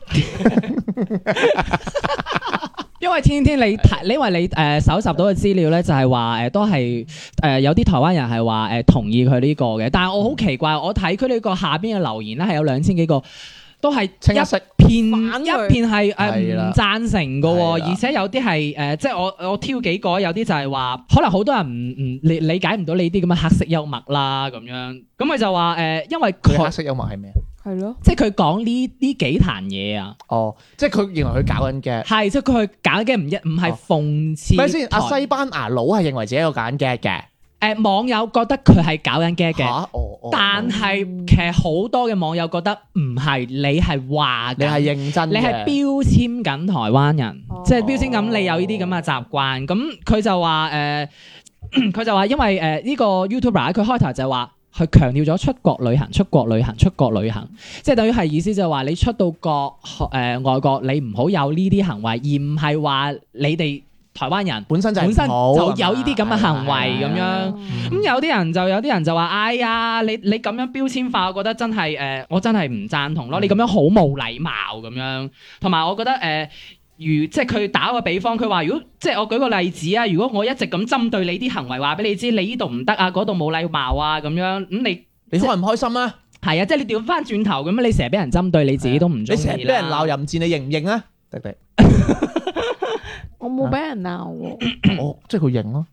因為天你睇，因為你搜集到嘅資料咧，就係話都係有啲台灣人係話同意佢呢個嘅，但係我好奇怪，我睇佢呢個下邊嘅留言咧係有2000幾個，都係一片係唔贊成嘅喎，而且有啲係即係我挑幾個，有啲就係話可能好多人唔理解唔到你啲咁嘅黑色幽默啦咁樣，咁佢就話因為佢黑色幽默係咩？ 係咯， 即係佢講呢幾壇嘢啊！ 哦，即係佢認為佢搞緊嘅， 係即係佢搞緊嘅唔係諷刺。 咪先？阿西班牙佬係認為自己有搞緊嘅。 網友覺得佢係搞緊嘅，但係其實好多嘅網友覺得唔係，你係話你係認真嘅， 你係標籤緊台灣人，即係標籤緊你有呢啲咁嘅習慣。咁佢就話佢就話因為呢個 YouTuber 佢開頭就話。佢強調咗出國旅行，即係等於係意思就係話你出到國外國，你唔好有呢啲行為，而唔係話你哋台灣人本身就有呢啲咁嘅行為咁樣。咁有啲人就話：哎呀，你咁樣標籤化，我覺得真係我真係唔贊同咯。你咁樣好冇禮貌咁樣。同埋我覺得即係佢打個比方，佢話如果即係我舉個例子啊，如果我一直咁針對你啲行為，話俾你知，你呢度唔得啊，嗰度冇禮貌啊，咁樣咁你開唔開心啊？係啊，即係你調翻轉頭咁，你成日俾人針對，你自己都唔中意啦。你成日俾人鬧淫賤，你認唔認啊？迪迪， 我冇俾人鬧喎。 即係佢認咯。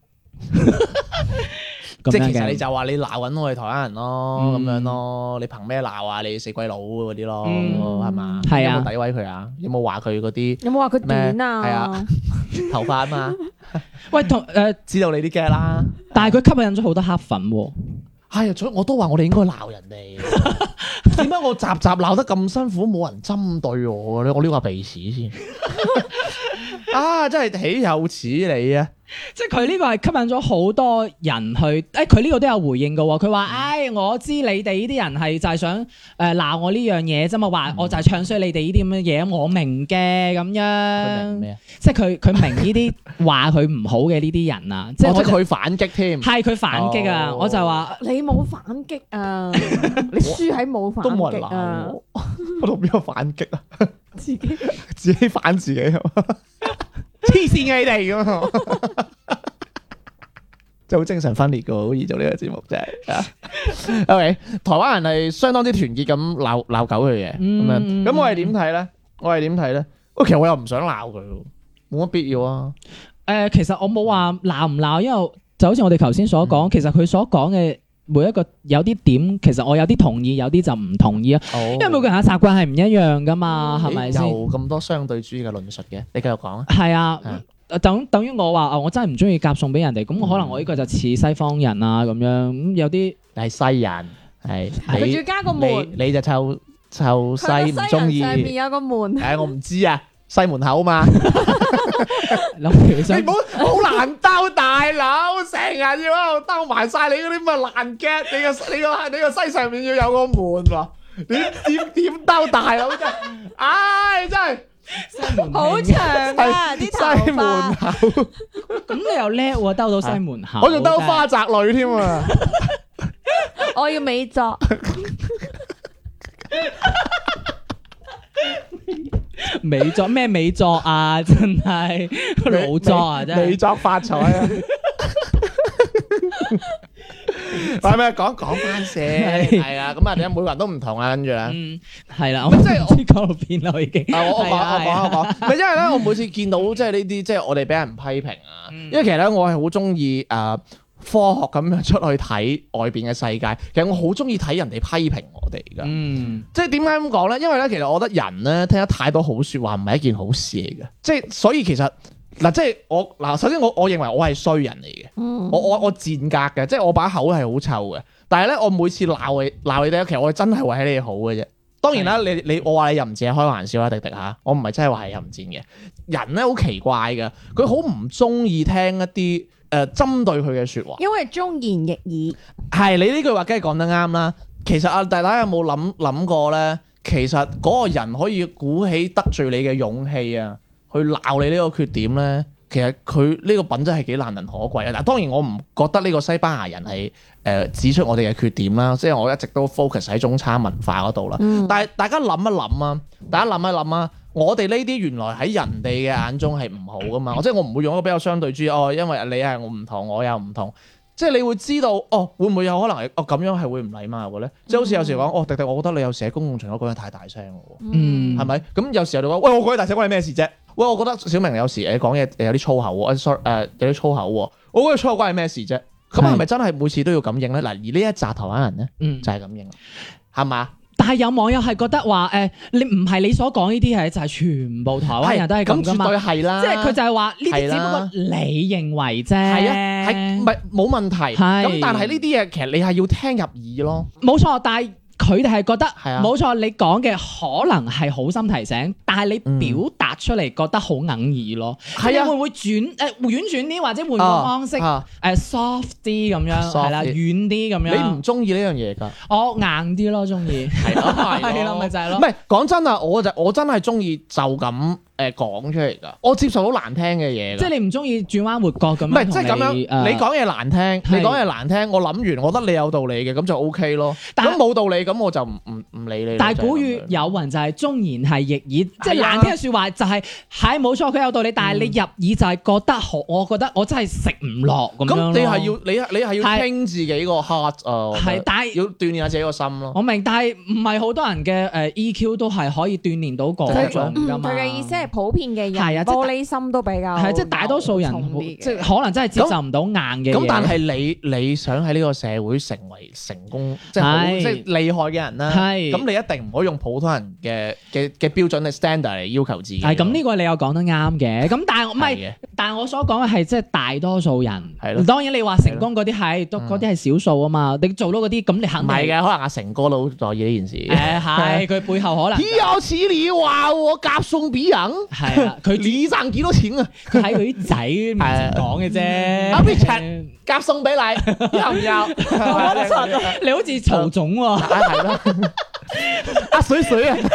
即係其實你就話你鬧緊我哋台灣人咯，咁樣咯，你憑咩鬧啊？你死鬼佬嗰啲咯，係嘛？係啊。有冇詆毀佢啊？有冇話佢嗰啲？有冇話佢短啊？係啊，頭髮啊嘛。喂，知道你啲 get 啦。但係佢吸引咗好多黑粉喎。係啊，所以我都話我哋應該鬧人哋。點解我集鬧得咁辛苦，冇人針對我咧？我呢個鼻屎先。 啊，真係豈有此理啊！ 即係佢呢個係吸引咗好多人去，佢呢個都有回應嘅喎。佢話：，我知你哋呢啲人係就係想鬧我呢樣嘢啫嘛，話我就係唱衰你哋呢啲咁嘅嘢，我明嘅咁樣。 佢明咩啊？ 即係佢明呢啲話佢唔好嘅呢啲人啊，即係我佢反擊添， 係佢反擊啊！我就話你冇反擊啊，你輸喺冇反都冇人擊啊鬧，我，我同邊個反擊啊？ 自己自己反自己，黐線嘅你哋咁啊！真係好精神分裂噶，好易做呢個節目真係。OK， 台灣人係相當之團結咁鬧狗佢嘅咁樣，咁我係點睇咧？其實我又唔想鬧佢，冇乜必要啊。 其實我冇話鬧唔鬧，因為就好似我哋頭先所講，其實佢所講嘅每一個有啲點，其實我有啲同意，有啲就唔同意啊。因為每個人嘅習慣係唔一樣噶嘛，係咪先？ 有咁多相對主義嘅論述嘅，你繼續講啊。 係啊。等於我話我真係唔中意夾餸俾人哋，咁可能我呢個就似西方人啊咁樣，咁有啲係西人，係佢仲要加個門， 你就臭西唔中意。 上面有個門， 我唔知啊，西門口嘛。 你唔好難兜，大佬成日要喺度兜埋晒你嗰啲咁嘅爛 get，你個西上面要有個門喎，點兜大佬真係，真係。 好長啊啲頭西門髮， 口， 咁你又叻喎，兜到西門口， 我仲兜花澤類添啊！ 我要美作， 美作咩美作啊？真係老作啊！真係美作發財啊！係咪講翻先？係啊，咁啊，點解每個人都唔同啊？跟住咧， 係啦，我即係我知講到邊啦，已經。 我講，唔係因為咧，我每次見到即係呢啲，即係我哋俾人批評啊。因為其實咧，我係好中意科學咁樣出去睇外邊嘅世界。其實我好中意睇人哋批評我哋噶。即係點解咁講咧？因為咧，其實我覺得人咧聽得太多好說話唔係一件好事嚟嘅。即係所以其實。嗱，即係首先我認為我係衰人嚟嘅，我賤格嘅，即係我把口係好臭嘅。但係咧，我每次鬧你哋，其實我真係為你好嘅啫。當然啦，我話你淫賤係開玩笑啦，迪迪嚇，我唔係真係話係淫賤嘅。人咧好奇怪嘅，佢好唔中意聽一啲針對佢嘅説話， 因為忠言逆耳。 係你呢句話梗係講得啱啦。其實大家有冇諗過咧？其實嗰個人可以鼓起得罪你嘅勇氣啊！去鬧你呢個缺點咧，其實佢呢個品質係幾難能可貴啊！但係當然我唔覺得呢個西班牙人係指出我哋嘅缺點啦，即係我一直都 focus 喺中餐文化嗰度啦。但係大家諗一諗啊，我哋呢啲原來喺人哋嘅眼中係唔好噶嘛，即係我唔會用一個比較相對主義因為你係我唔同，我又唔同。即係你會知道會唔會有可能係咁樣係會唔禮貌嘅咧？即係好似有時講迪迪，我覺得你有時喺公共場所講嘢太大聲喎，係咪？咁有時候你講喂，我講嘢大聲關你咩事啫？喂，我覺得小明有時講嘢有啲粗口喎，有啲粗口喎，我覺得粗口關你咩事啫？咁係咪真係每次都要咁應咧？嗱，而呢一紮台灣人咧，就係咁應，係嘛？ 但係有網友係覺得話你唔係你所講呢啲係就係全部台灣人都係咁噶嘛？ 咁絕對係啦， 即係佢就係話呢啲只不過你認為啫， 係啊，係唔係冇問題？咁但係呢啲嘢其實你係要聽入耳咯， 冇錯，但係。佢哋係覺得冇錯，你講嘅可能係好心提醒，但係你表達出嚟覺得好哽耳咯。係啊，會唔會婉轉啲，或者換個方式soft 啲咁樣，係啦，軟啲咁樣。 你唔中意呢樣嘢㗎？ 我硬啲咯，中意係咯，咪就係咯。 唔係講真啊，我真係中意就咁講出嚟㗎。我接受到難聽嘅嘢。即係你唔中意轉彎抹角咁樣。 唔係即係咁樣，你講嘢難聽，我諗完，我覺得你有道理嘅，咁就 OK 咯。咁冇道理。咁我就唔理你。 但係古語有云就係忠言係逆耳，即係難聽嘅説話就係冇錯，佢有道理。但係你入耳就係覺得我覺得我真係食唔落咁樣。咁你係要傾自己個 heart 啊，係，但係要鍛鍊下自己個心咯。我明，但係唔係好多人嘅EQ 都係可以鍛鍊到嗰種㗎嘛。 佢嘅意思係普遍嘅人玻璃心都比較係， 即係大多數人即係可能真係接受唔到硬嘅嘢。 咁但係你想喺呢個社會成為成功，即係厲害嘅人啦，咁咁你一定唔可以用普通人嘅標準嘅 standard 嚟要求自己。 係咁呢個你又講得啱嘅，咁但係唔係係嘅， 但係我所講嘅係即係大多數人。 係咯當然你話成功嗰啲係都嗰啲係少數啊嘛，你做到嗰啲咁你肯定唔係嘅，可能阿成哥都好在意呢件事。 誒係佢背後可能有似你話我夾送俾人， 係啦，佢你賺幾多錢啊？ 佢喺佢啲仔面前講嘅啫。 阿 Richard 夾送俾你，要唔要？ 你好似曹總喎， 係咯，阿水水啊，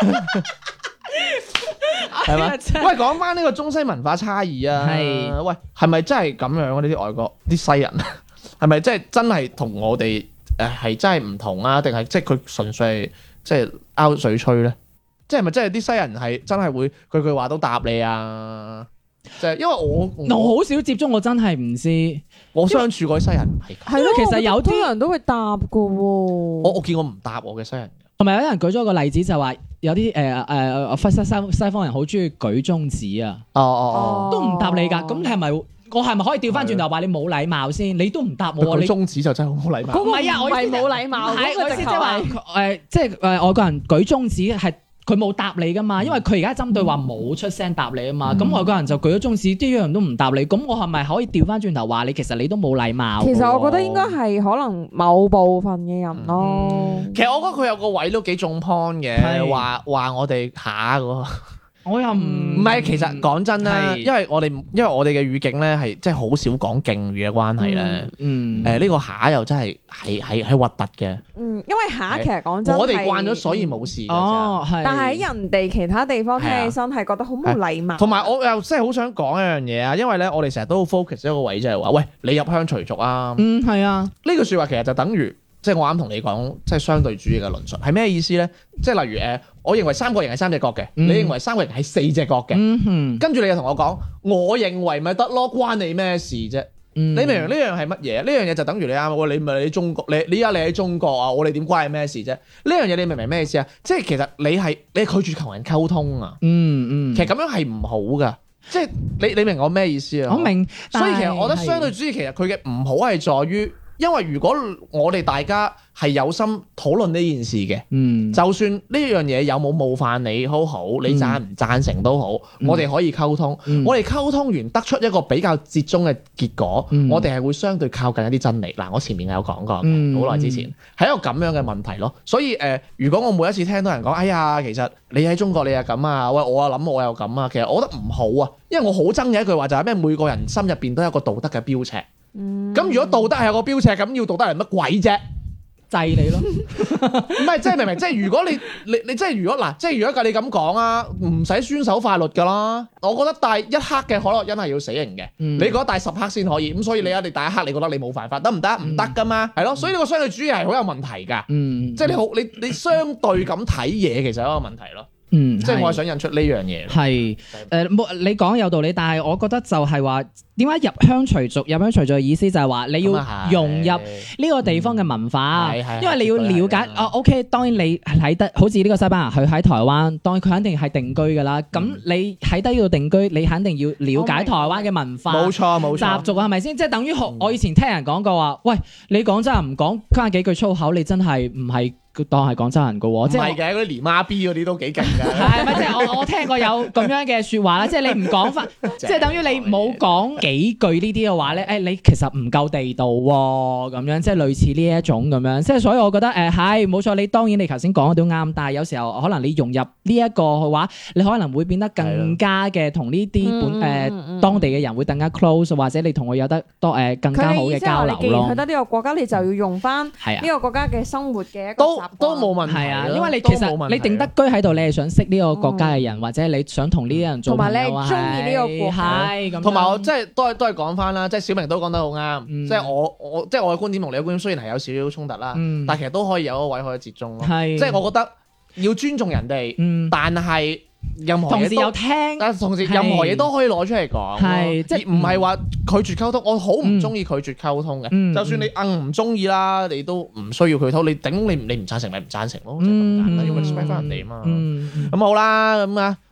係嘛？喂，講翻呢個中西文化差異啊， 係喂，係咪真係咁樣啊？呢啲外國啲西人係咪真係同我哋係真係唔同啊？定係即係佢純粹係即係拗水吹咧？即係咪真係啲西人係真係會句句話都答你啊？就係因為我好少接觸，我真係唔知。 我相處嗰啲西人唔係咁， 係咯， 其實有啲好多人都會答噶喎。 我見過唔答我嘅西人嘅。 同埋有人舉咗個例子就話有啲西方人好中意舉中指啊， 哦都唔答你㗎。咁你係咪我係咪可以調翻轉頭話你冇禮貌先？你都唔答我，你佢中指就真係好冇禮貌。 嗰個唔係啊我意思係冇禮貌， 係嗰個直頭我意思即係話係即係外國人舉中指係。佢冇答你噶嘛，因為佢而家針對話冇出聲答你啊嘛，咁外國人就舉咗中指，啲樣都唔答你，咁我係咪可以調翻轉頭話你其實你都冇禮貌？ 其實我覺得應該係可能某部分嘅人咯。 其實我覺得佢有個位都幾中 point 嘅， 係話我哋下嗰個。 我又唔唔係，其實講真啦， 係因為我哋嘅語境咧係即係好少講敬語嘅關係咧。呢個下又真係核突嘅。 因為下其實講真， 我哋慣咗，所以冇事㗎咋。 哦，係。 但係喺人哋其他地方聽起身係覺得好冇禮貌。 同埋我又真係好想講一樣嘢啊，因為咧我哋成日都好 focus 一個位，就係話，喂，你入鄉隨俗啊。 係啊， 呢句説話其實就等於即係我啱同你講，即係相對主義嘅論述係咩意思咧？即係例如我認為三角形係三隻角嘅，你認為三角形係四隻角嘅，跟住你又同我講，我認為咪得咯，關你咩事啫？你明唔明呢樣係乜嘢？呢樣嘢就等於你啱喎，你咪你中國，你依家你喺中國啊，我哋點關你咩事啫？呢樣嘢你明唔明咩意思啊？即係其實你拒絕同人溝通啊，其實咁樣係唔好噶，即係你明我咩意思啊？ 我明， 所以其實我覺得相對主義其實佢嘅唔好係在於。因為如果我哋大家係有心討論呢件事嘅，就算呢樣嘢有冇冒犯你好好，你贊唔贊成都好，我哋可以溝通。我哋溝通完得出一個比較折中嘅結果，我哋係會相對靠近一啲真理。嗱，我前面有講過，好耐之前係一個咁樣嘅問題咯。所以如果我每一次聽到人講，哎呀，其實你喺中國你又咁啊，喂，我又諗我又咁啊，其實我覺得唔好啊，因為我好憎嘅一句話就係咩？每個人心入邊都有一個道德嘅標尺。咁如果道德係有個標尺，咁要道德係乜鬼啫？ 制你咯， 唔係即係明明即係如果你即係如果嗱，即係如果你咁講啊，唔使遵守法律㗎啦。我覺得帶1克嘅可樂因係要死刑嘅，你覺得帶10克先可以，咁所以你一定帶1克，你覺得你冇犯法得唔得？唔得㗎嘛，係咯。所以呢個相對主義係好有問題㗎，即係你相對咁睇嘢，其實係一個問題咯。即係我係想引出呢樣嘢。 係你講有道理，但係我覺得就係話點解入鄉隨俗？入鄉隨俗嘅意思就係話你要融入呢個地方嘅文化，因為你要了解。OK，當然你喺得好似呢個西班牙，佢喺台灣，當然佢肯定係定居㗎啦。咁你喺低呢度定居，你肯定要了解台灣嘅文化。 冇錯冇錯。 習俗係咪先？即係等於我以前聽人講過話，喂，你廣州人唔講加幾句粗口，你真係唔係當係廣州人㗎喎。即係嘅，嗰啲連媽 B 嗰啲都幾勁㗎。 係咪即係我聽過有咁樣嘅説話啦？即係你唔講翻，即係等於你冇講幾句呢啲嘅話咧，你其實唔夠地道喎，咁樣即係類似呢一種咁樣。即係所以我覺得係冇錯，你當然你頭先講嘅都啱，但係有時候可能你融入呢一個嘅話，你可能會變得更加嘅同呢啲當地嘅人會更加 close，或者你同佢有得多更加好嘅交流咯。 佢嘅意思係話你既然去得呢個國家，你就要用翻呢個國家嘅生活嘅一個習慣都冇問題。 係啊，因為你其實你定得居喺度，你係想識呢個國家嘅人，或者你想同呢啲人做朋友， 同埋你係中意呢個國家， 係咁。 同埋我即係都係講翻啦，即係小明都講得好啱。即係我嘅觀點同你嘅觀點雖然係有少少衝突啦，但係其實都可以有一個位可以折中咯。即係我覺得要尊重人哋，但係任何嘢同時有聽， 但係同時任何嘢都可以攞出嚟講， 係即係唔係話拒絕溝通。我好唔中意拒絕溝通嘅，就算你唔中意啦，你都唔需要佢溝。你頂你唔贊成咪唔贊成咯，就咁簡單，要 respect 翻人哋啊嘛。咁好啦，咁啊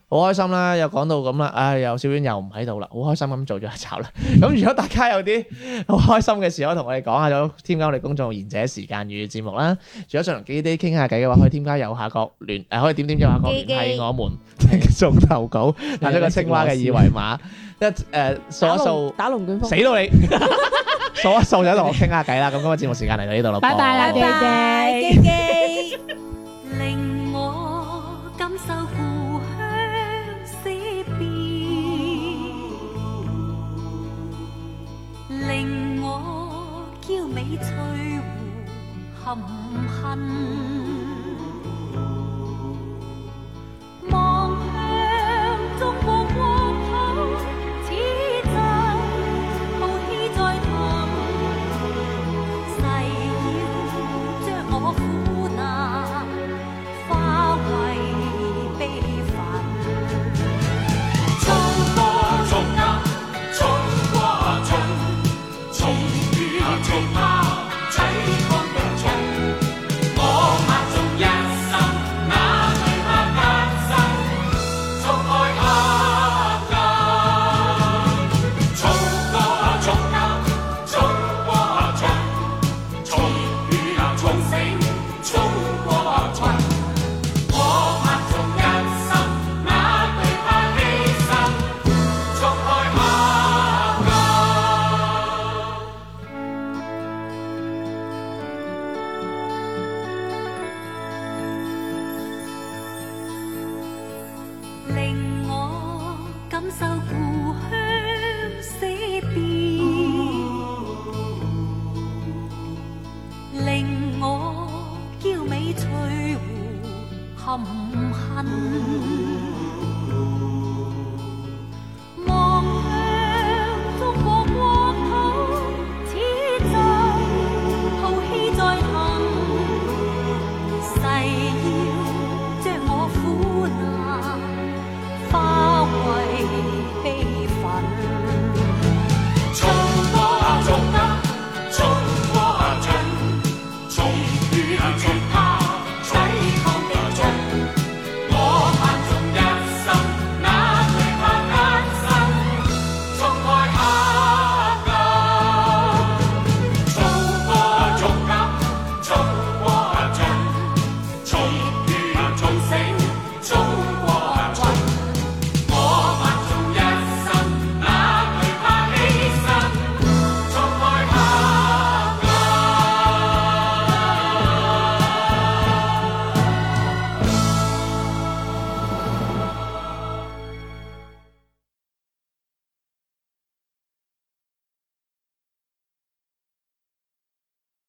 好開心啦，又講到咁啦，唉，又小婉又唔喺度啦，好開心咁做咗一集啦。咁如果大家有啲好開心嘅事，可以同我哋講下，就添加我哋公眾號賢者時間與節目啦。如果想同基基傾下偈嘅話，可以添加右下角可以點右下角聯繫我們送投稿，打咗個青蛙嘅二維碼，掃一掃打龍捲風， 死到你，掃一掃就同我傾下偈啦。咁今日節目時間嚟到呢度啦， 拜拜啦， 拜拜，基基。 令我感受故鄉死別，令我嬌美翠湖含恨，望向中國國土，此際浩氣在騰，誓要將我苦難化為悲憤。 衝過衝啊，衝過衝，衝與衝啊，齊抗的衝。我默眾一生，哪懼怕艱辛，衝開黑暗。衝過衝啊，衝過衝，衝與衝醒，衝過衝。我默眾一生，哪懼怕犧牲，衝開黑暗。 令我感受故鄉死別，令我嬌美翠湖含恨。